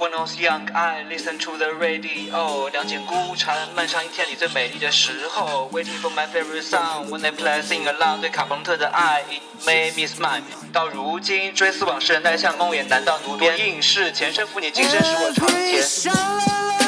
When I was young, I listened to the radio. 两件孤蝉，漫长一天里最美丽的时候。Waiting for my favorite song, when they play, sing along. 对卡朋特的爱 ，It made me smile. 到如今，追思往事，耐像梦魇，难道奴边应试？前生负你，今生使我尝甜。